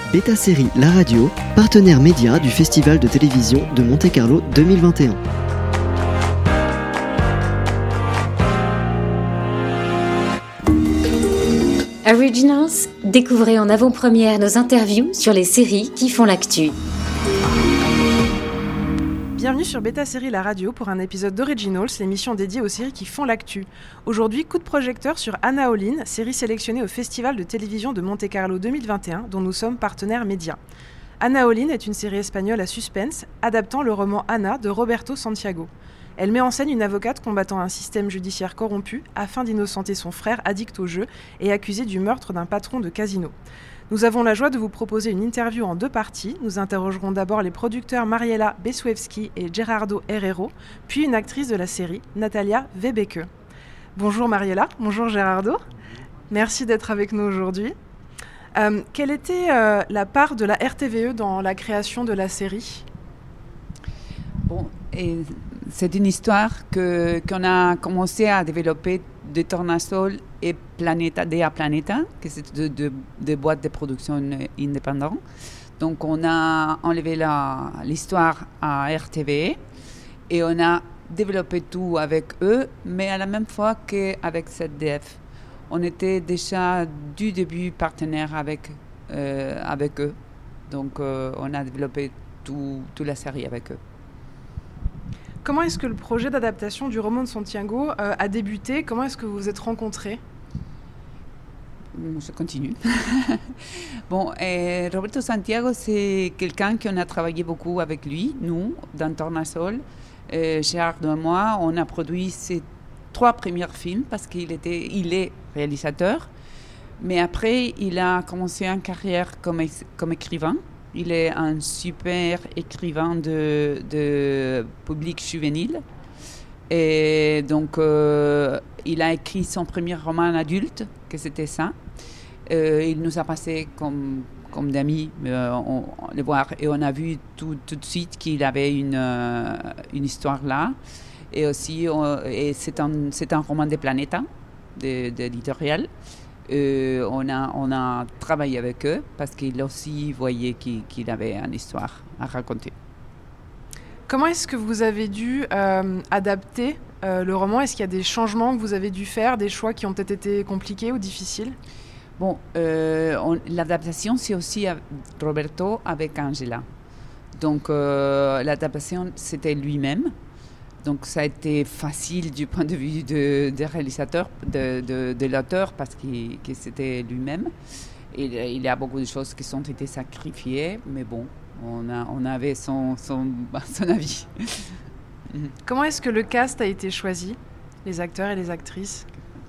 Beta Série La Radio, partenaire média du Festival de télévision de Monte-Carlo 2021. Originals, découvrez en avant-première nos interviews sur les séries qui font l'actu. Bienvenue sur Beta Série La Radio pour un épisode d'Originals, l'émission dédiée aux séries qui font l'actu. Aujourd'hui, coup de projecteur sur Anna Olin, série sélectionnée au Festival de télévision de Monte-Carlo 2021, dont nous sommes partenaires médias. Anna Olin est une série espagnole à suspense, adaptant le roman Anna de Roberto Santiago. Elle met en scène une avocate combattant un système judiciaire corrompu afin d'innocenter son frère addict au jeu et accusé du meurtre d'un patron de casino. Nous avons la joie de vous proposer une interview en 2 parties. Nous interrogerons d'abord les producteurs Mariela Besuevski et Gerardo Herrero, puis une actrice de la série, Natalia Webeke. Bonjour Mariela, bonjour Gerardo. Merci d'être avec nous aujourd'hui. Quelle était la part de la RTVE dans la création de la série ? C'est une histoire qu'on a commencé à développer de Tornasol et Planeta Dea Planeta, qui c'est deux boîtes de production indépendantes. Donc on a enlevé l'histoire à RTVE et on a développé tout avec eux, mais à la même fois qu'avec ZDF. On était déjà du début partenaire avec eux. Donc on a développé toute la série avec eux. Comment est-ce que le projet d'adaptation du roman de Santiago a débuté ? Comment est-ce que vous vous êtes rencontrés ? Je continue. Roberto Santiago, c'est quelqu'un qu'on a travaillé beaucoup avec lui, nous, dans Tornasol. Gerardo et moi, on a produit ses 3 premiers films parce qu'il est réalisateur. Mais après, il a commencé une carrière comme écrivain. Il est un super écrivain de public juvénile. Et donc, il a écrit son premier roman adulte, que c'était ça. Il nous a passé comme d'amis le voir. Et on a vu tout de suite qu'il avait une histoire là. Et aussi, c'est un roman de Planeta, de l'éditorial. On a travaillé avec eux parce qu'il aussi voyait qu'il avait une histoire à raconter. Comment est-ce que vous avez dû adapter le roman ? Est-ce qu'il y a des changements que vous avez dû faire, des choix qui ont peut-être été compliqués ou difficiles ? L'adaptation, c'est aussi Roberto avec Angela. Donc, l'adaptation, c'était lui-même. Donc, ça a été facile du point de vue des réalisateurs, de l'auteur, parce que c'était lui-même. Et il y a beaucoup de choses qui ont été sacrifiées, mais bon, on avait son avis. Comment est-ce que le cast a été choisi, les acteurs et les actrices ?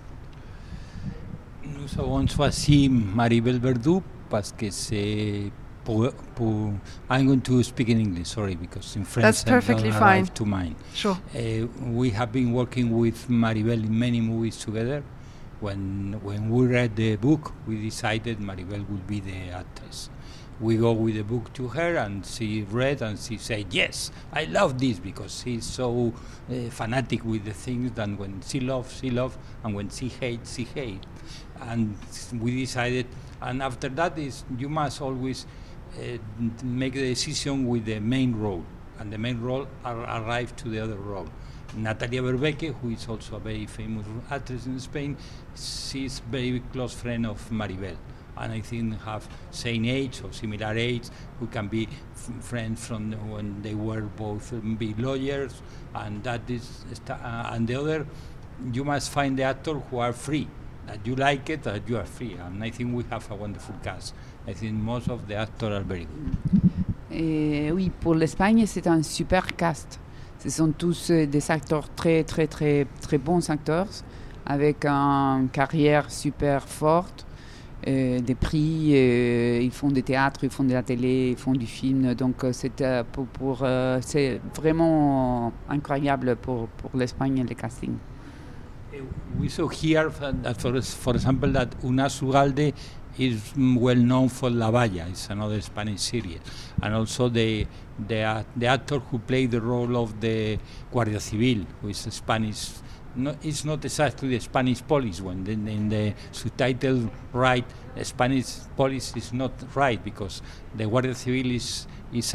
Nous avons choisi Maribel Verdú parce que c'est I'm going to speak in English, sorry, because in French That's perfectly I don't fine. arrive to mine. Sure. We have been working with Maribel in many movies together. When we read the book, we decided Maribel would be the actress. We go with the book to her and she read and she said, yes, I love this, because she's so fanatic with the things that when she loves, and when she hates, And we decided, and after that you must always make the decision with the main role, and the main role arrived to the other role. Natalia Webeke, who is also a very famous actress in Spain, she's a very close friend of Maribel, and I think have same age or similar age. We can be friends from when they were both big lawyers, and that is and the other, you must find the actors who are free. That you like it, that you are free. And I think we have a wonderful cast. I think most of the actors are very good. Oui, pour l'Espagne, c'est un super cast. Ce sont tous des acteurs très, très, très, très bons acteurs, avec une carrière super forte, des prix, ils font du théâtre, ils font de la télé, ils font du film. Donc, c'est vraiment incroyable pour l'Espagne, le casting. We saw here that, for example, that Unas Ugalde is well known for La Valla. It's another Spanish series, and also the actor who played the role of the Guardia Civil, who is a Spanish it's not exactly the Spanish police. When in the subtitle right, the Spanish police is not right, because the Guardia Civil is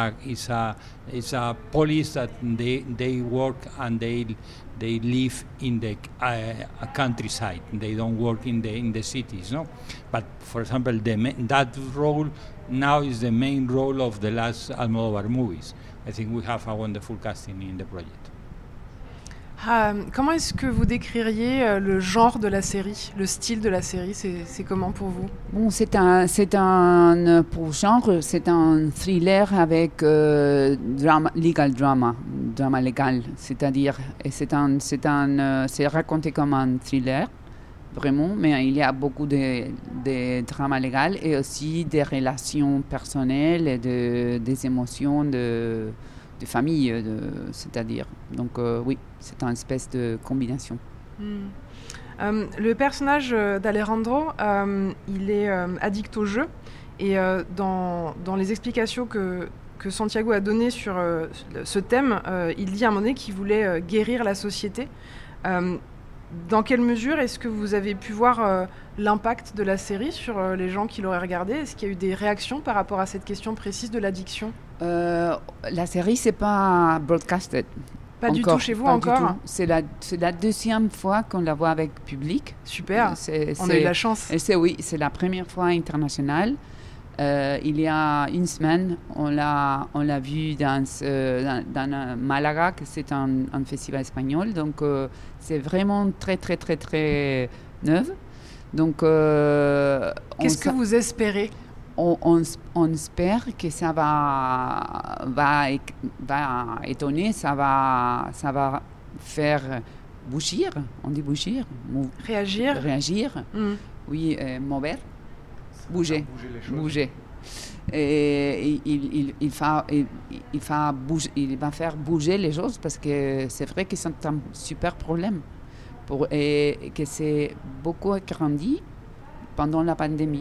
a police that they work and they live in the countryside. They don't work in the cities, no. But for example, that role now is the main role of the last Almodóvar movies. I think we have a wonderful casting in the project. Comment est-ce que vous décririez le genre de la série, le style de la série, c'est comment pour vous? Bon, pour genre, c'est un thriller avec legal drama légal, c'est-à-dire, et c'est raconté comme un thriller, vraiment, mais il y a beaucoup de drama légal et aussi des relations personnelles et des émotions de famille, c'est-à-dire. Donc oui, c'est une espèce de combinaison. Le personnage d'Alejandro, il est addict au jeu, et dans les explications que Santiago a données sur ce thème, il dit à un moment donné qu'il voulait guérir la société. Dans quelle mesure est-ce que vous avez pu voir l'impact de la série sur les gens qui l'auraient regardée? Est-ce qu'il y a eu des réactions par rapport à cette question précise de l'addiction? La série, c'est pas broadcasted. Pas du tout chez vous encore? C'est la deuxième fois qu'on la voit avec public. Super, on a eu la chance. Oui, c'est la première fois internationale. Il y a une semaine, on l'a vu dans Malaga, que c'est un festival espagnol. Donc, c'est vraiment très, très, très, très neuf. Donc, qu'est-ce que vous espérez? On espère que ça va étonner, ça va faire bouger, on dit bouger, réagir. Oui, mover. Bouger. Et il va faire bouger les choses, parce que c'est vrai que c'est un super problème et que c'est beaucoup agrandi pendant la pandémie.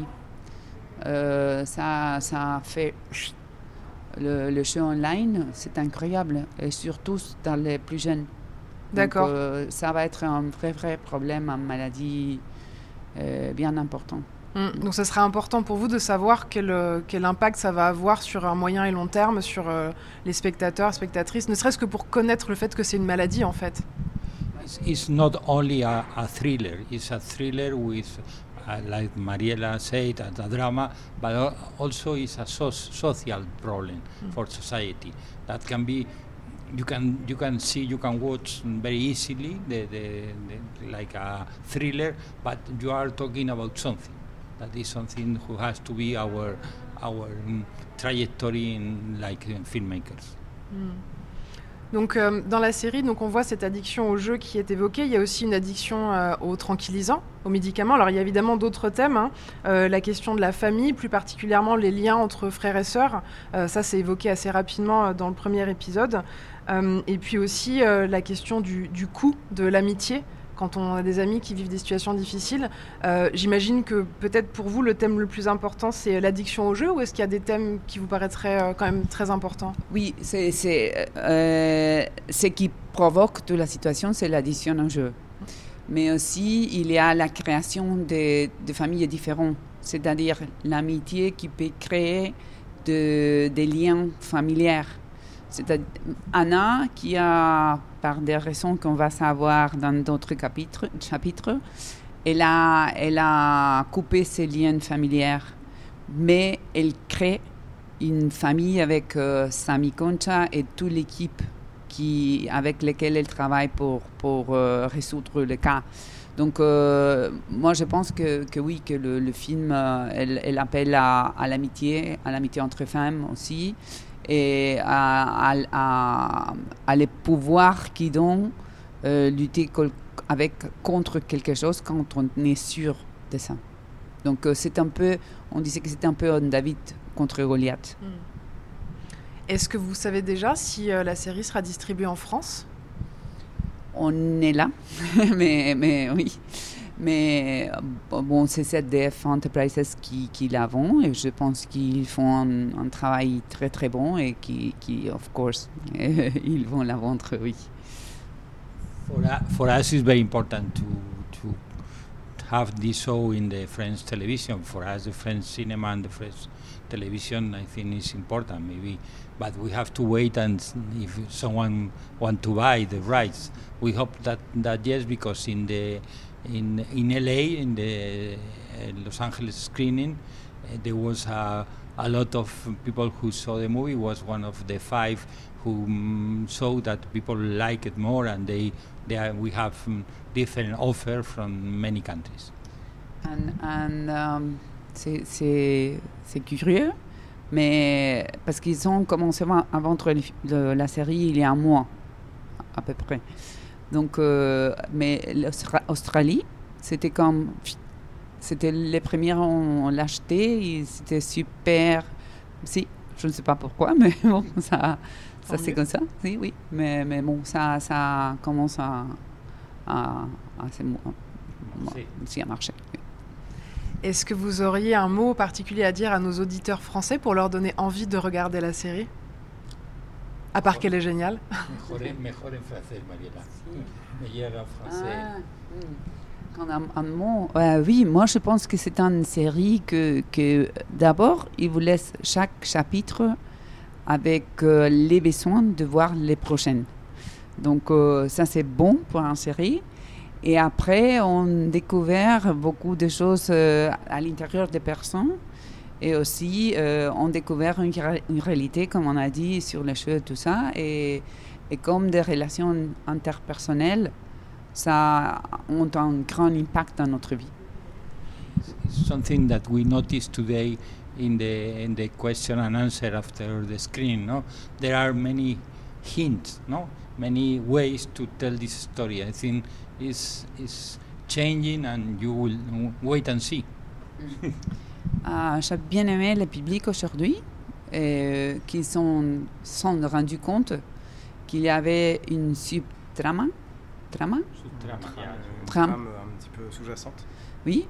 Ça a fait le jeu online, c'est incroyable, et surtout dans les plus jeunes. D'accord. Donc, ça va être un vrai problème, une maladie bien important. Donc ça sera important pour vous de savoir quel impact ça va avoir sur un moyen et long terme sur les spectateurs, spectatrices, ne serait-ce que pour connaître le fait que c'est une maladie en fait. It's not only a thriller, it's a thriller with, like Mariela said, a drama, but also it's a social problem for society that can be. You can watch very easily like a thriller, but you are talking about something. That is something who has to be our trajectory like filmmakers. Donc dans la série, on voit cette addiction au jeu qui est évoquée. Il y a aussi une addiction aux tranquillisants, aux médicaments. Alors il y a évidemment d'autres thèmes, la question de la famille, plus particulièrement les liens entre frères et sœurs. Ça c'est évoqué assez rapidement dans le premier épisode. Et puis aussi la question du coût de l'amitié. Quand on a des amis qui vivent des situations difficiles, j'imagine que peut-être pour vous, le thème le plus important, c'est l'addiction au jeu, ou est-ce qu'il y a des thèmes qui vous paraîtraient quand même très importants? Oui, ce qui provoque toute la situation, c'est l'addiction au jeu. Mais aussi, il y a la création de familles différentes, c'est-à-dire l'amitié qui peut créer des liens familiaux. C'est Anna, qui a, par des raisons qu'on va savoir dans d'autres chapitres, elle a coupé ses liens familiaux, mais elle crée une famille avec Sami Concha et toute l'équipe avec laquelle elle travaille pour résoudre le cas. Donc, moi, je pense que oui, que le film, elle appelle à l'amitié entre femmes aussi, et à les pouvoirs qui donnent lutter contre quelque chose quand on est sûr de ça. Donc on disait que c'était un peu un David contre Goliath. Est-ce que vous savez déjà si la série sera distribuée en France? On est là, mais oui. Mais bon, c'est ZDF Enterprises qui la vend, et je pense qu'ils font un travail très très bon, et qui of course, ils vont la vendre, oui. For us, it's very important to have this show in the French television. For us, the French cinema and the French television, I think, is important. Maybe, but we have to wait and if someone want to buy the rights. We hope that yes, because in LA in the Los Angeles screening, there was a lot of people who saw the movie. Was one of the 5 who saw that people like it more, and we have different offers from many countries. C'est curieux, mais parce qu'ils ont commencé à vendre la série il y a un mois à peu près. Donc, mais l'Australie, c'était les premiers on l'achetait, c'était super. Si, je ne sais pas pourquoi, mais bon, ça c'est comme ça. Si, oui, mais bon, ça commence à marcher. Oui. Est-ce que vous auriez un mot particulier à dire à nos auditeurs français pour leur donner envie de regarder la série? À part qu'elle est géniale. Mejor en français, Mariela. Meilleur en français. Un mot, oui, moi je pense que c'est une série que d'abord, il vous laisse chaque chapitre avec les besoins de voir les prochaines. Donc ça c'est bon pour une série. Et après, on découvre beaucoup de choses à l'intérieur des personnes. Et aussi, on découvre une réalité, comme on a dit, sur les cheveux et tout ça. Et comme des relations interpersonnelles, ça a un grand impact dans notre vie. Something that we noticed today in the question and answer after the screen, no? There are many hints, no? Many ways to tell this story. I think is changing, and you will wait and see. J'ai bien aimé le public aujourd'hui, qui sont rendus compte qu'il y avait une trame trame un petit peu sous-jacente. Oui,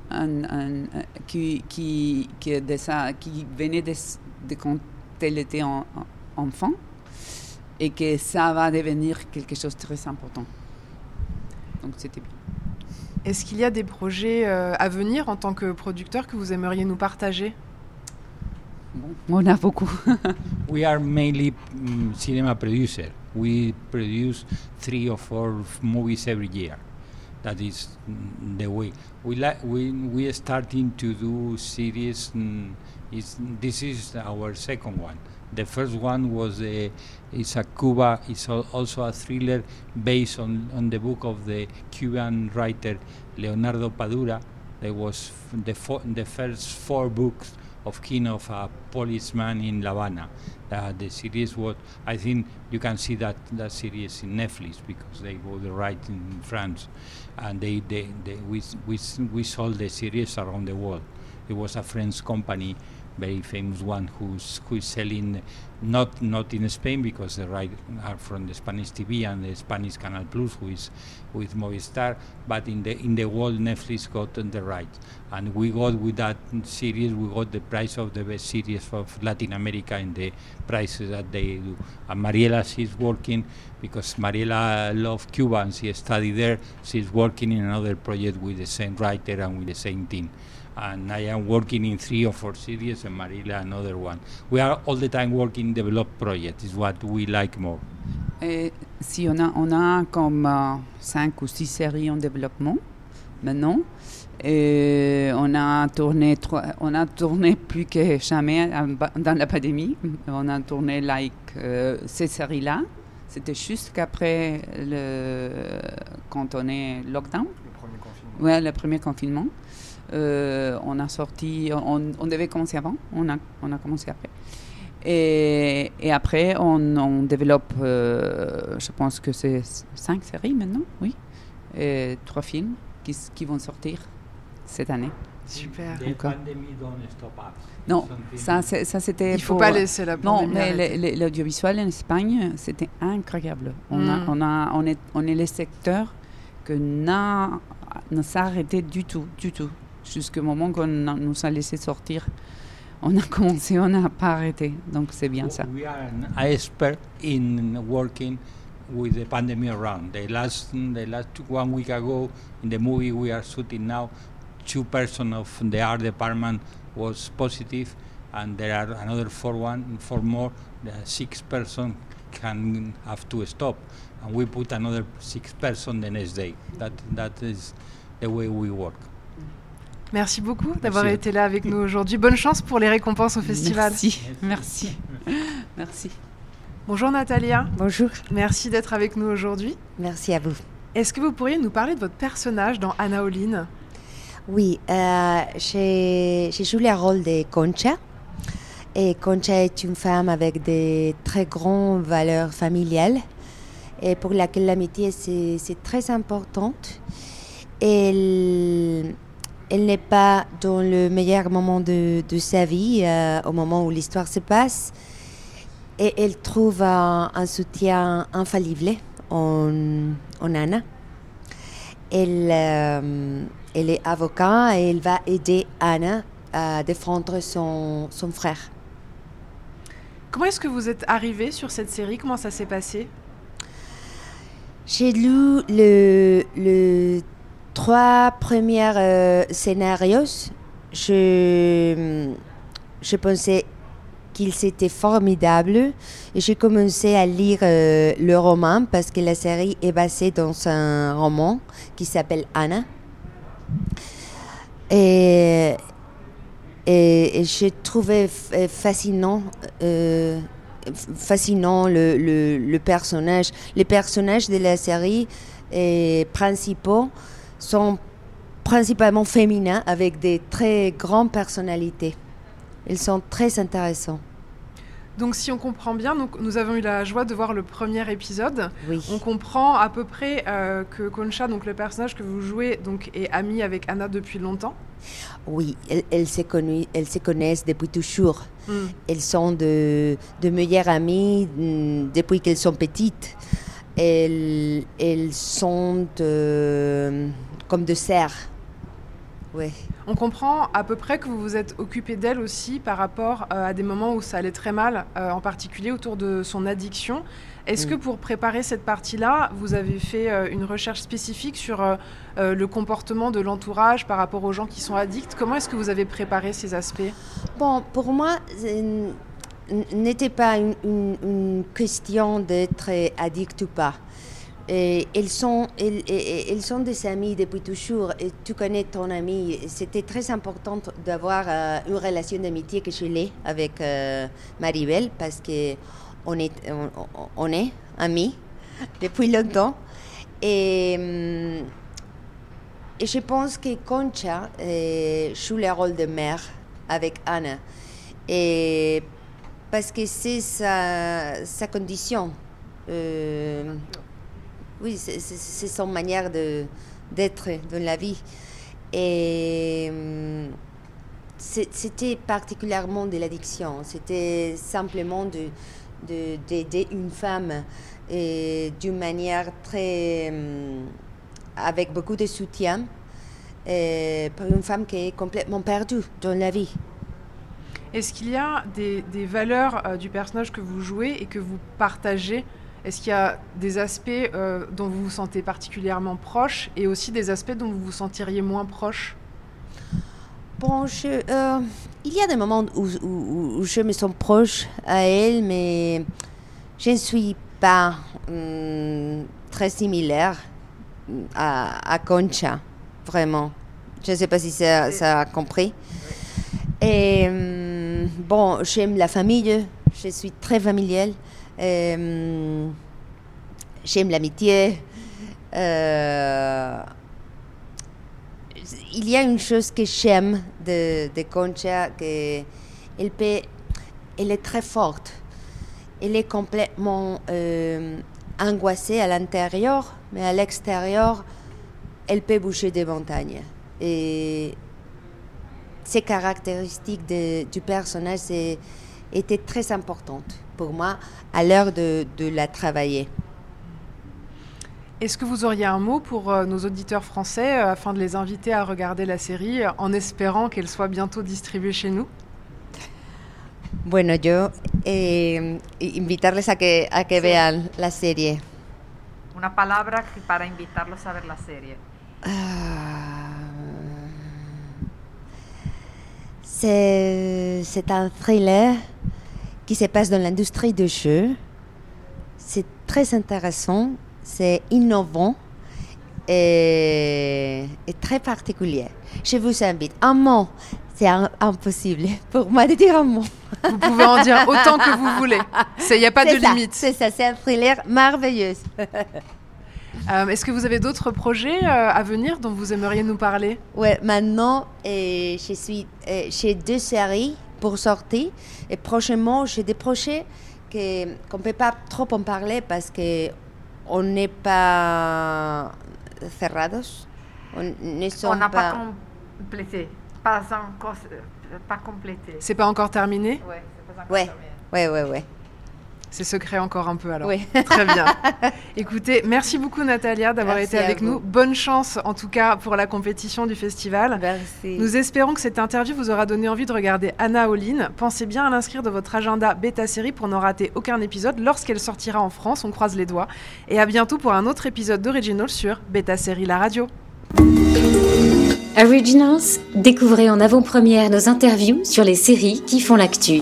qui venait de quand elle était enfant, et que ça va devenir quelque chose de très important. Donc c'était bien. Est-ce qu'il y a des projets à venir en tant que producteur que vous aimeriez nous partager? Bon, on a beaucoup. We are mainly cinema producer. We produce 3 or 4 movies every year. That is the way. We are starting to do series. This is our second one. The first one was is a Cuba. It's also a thriller based on the book of the Cuban writer Leonardo Padura. There was the first 4 books of King of a policeman in La Habana. The series was, I think you can see that series in Netflix because they bought the right in France, and we sold the series around the world. It was a French company, very famous one who is selling not in Spain because the rights are from the Spanish TV and the Spanish Canal Plus, who is with Movistar, but in the world Netflix got the rights, and we got with that series we got the prize of the best series of Latin America in the prizes that they do. And Mariela, she's working because Mariela loves Cuba and she studied there. She's working in another project with the same writer and with the same team. And I am working in 3 or 4 series, and Mariela another one. We are all the time working developed projects. Is what we like more. Si on a comme 5 ou 6 séries en développement maintenant. On a tourné plus que jamais dans la pandémie. On a tourné ces séries-là. C'était juste qu'après quand on est lockdown. Le premier confinement. Ouais, le premier confinement. On a sorti, on devait commencer avant, on a commencé après. Et après, on développe, je pense que c'est 5 séries maintenant, oui, et 3 films qui vont sortir cette année. Super. The pandemic don't stop us. Non, ça c'était. Il ne faut pas laisser la pandémie. Non, mais l'audiovisuel en Espagne, c'était incroyable. On est le secteur que ne s'arrêtait du tout. Jusqu'au moment qu'on nous a laissé sortir, on a commencé, on n'a pas arrêté. Donc c'est bien ça. We are an expert in working with the pandemic around. The last 1 week ago, in the movie we are shooting now, 2 persons of the art department was positive, and there are another 4 more. The 6 persons can have to stop, and we put another 6 persons the next day. That is the way we work. Merci beaucoup d'avoir été là avec nous aujourd'hui. Bonne chance pour les récompenses au festival. Merci. Bonjour Natalia. Bonjour. Merci d'être avec nous aujourd'hui. Merci à vous. Est-ce que vous pourriez nous parler de votre personnage dans Anna Olin ? Oui, j'ai joué le rôle de Concha. Et Concha est une femme avec de très grandes valeurs familiales et pour laquelle l'amitié c'est très importante. Elle n'est pas dans le meilleur moment de sa vie, au moment où l'histoire se passe. Et elle trouve un soutien infaillible en Anna. Elle est avocate et elle va aider Anna à défendre son frère. Comment est-ce que vous êtes arrivée sur cette série ? Comment ça s'est passé ? J'ai lu le 3 premiers scénarios. Je pensais qu'ils étaient formidables et j'ai commencé à lire le roman parce que la série est basée dans un roman qui s'appelle Anna. Et j'ai trouvé fascinant le personnage. Les personnages de la série principaux sont principalement féminins avec des très grandes personnalités. Ils sont très intéressants. Donc si on comprend bien, nous avons eu la joie de voir le premier épisode. Oui. On comprend à peu près que Concha, donc le personnage que vous jouez, donc, est amie avec Anna depuis longtemps. Oui, elles se connaissent depuis toujours. Elles sont de meilleures amies depuis qu'elles sont petites. Elles sont comme de sœurs. Oui. On comprend à peu près que vous vous êtes occupé d'elle aussi par rapport à des moments où ça allait très mal, en particulier autour de son addiction. Est-ce que pour préparer cette partie-là, vous avez fait une recherche spécifique sur le comportement de l'entourage par rapport aux gens qui sont addicts ? Comment est-ce que vous avez préparé ces aspects ? Bon, pour moi, n'était pas une question d'être addict ou pas. Et elles sont des amies depuis toujours. Et tu connais ton amie. C'était très important d'avoir une relation d'amitié que je l'ai avec Maribel parce qu'on est amis depuis longtemps. Et je pense que Concha joue le rôle de mère avec Anna. Et parce que c'est sa condition. Oui, c'est son manière d'être dans la vie. Et c'était particulièrement de l'addiction. C'était simplement d'aider une femme d'une manière très... avec beaucoup de soutien pour une femme qui est complètement perdue dans la vie. Est-ce qu'il y a des valeurs du personnage que vous jouez et que vous partagez ? Est-ce qu'il y a des aspects dont vous vous sentez particulièrement proche et aussi des aspects dont vous vous sentiriez moins proche ? Bon, il y a des moments où je me sens proche à elle, mais je ne suis pas très similaire à Concha, vraiment. Je ne sais pas si ça a compris. Et bon, j'aime la famille, je suis très familiale. J'aime l'amitié. Il y a une chose que j'aime de Concha, elle est très forte. Elle est complètement angoissée à l'intérieur, mais à l'extérieur, elle peut bouger des montagnes. Et ces caractéristiques du personnage étaient très importantes pour moi à l'heure de la travailler. Est-ce que vous auriez un mot pour nos auditeurs français afin de les inviter à regarder la série en espérant qu'elle soit bientôt distribuée chez nous ? Bueno, yo invitarles a que vean la serie. Una palabra para invitarlos a ver la serie. C'est un thriller qui se passe dans l'industrie du jeu. C'est très intéressant, c'est innovant et très particulier. Je vous invite. Un mot, c'est impossible pour moi de dire un mot. Vous pouvez en dire autant que vous voulez. Il n'y a pas de limite. C'est ça, c'est un thriller merveilleux. Est-ce que vous avez d'autres projets à venir dont vous aimeriez nous parler? Oui, maintenant, je suis chez 2 séries pour sortir. Et prochainement, j'ai des projets qu'on ne peut pas trop en parler parce qu'on n'est pas cerrados. On n'a pas complété. Pas complété. C'est pas encore terminé? Oui, c'est pas encore terminé. Oui. C'est secret encore un peu alors. Oui. Très bien. Écoutez, merci beaucoup Natalia d'avoir été avec nous. Bonne chance en tout cas pour la compétition du festival. Merci. Nous espérons que cette interview vous aura donné envie de regarder Anna All-In. Pensez bien à l'inscrire dans votre agenda Beta Série pour n'en rater aucun épisode lorsqu'elle sortira en France. On croise les doigts. Et à bientôt pour un autre épisode d'Originals sur Beta Série la radio. Originals, découvrez en avant-première nos interviews sur les séries qui font l'actu.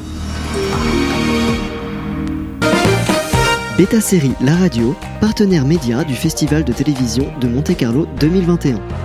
Beta Série la radio, partenaire média du Festival de télévision de Monte-Carlo 2021.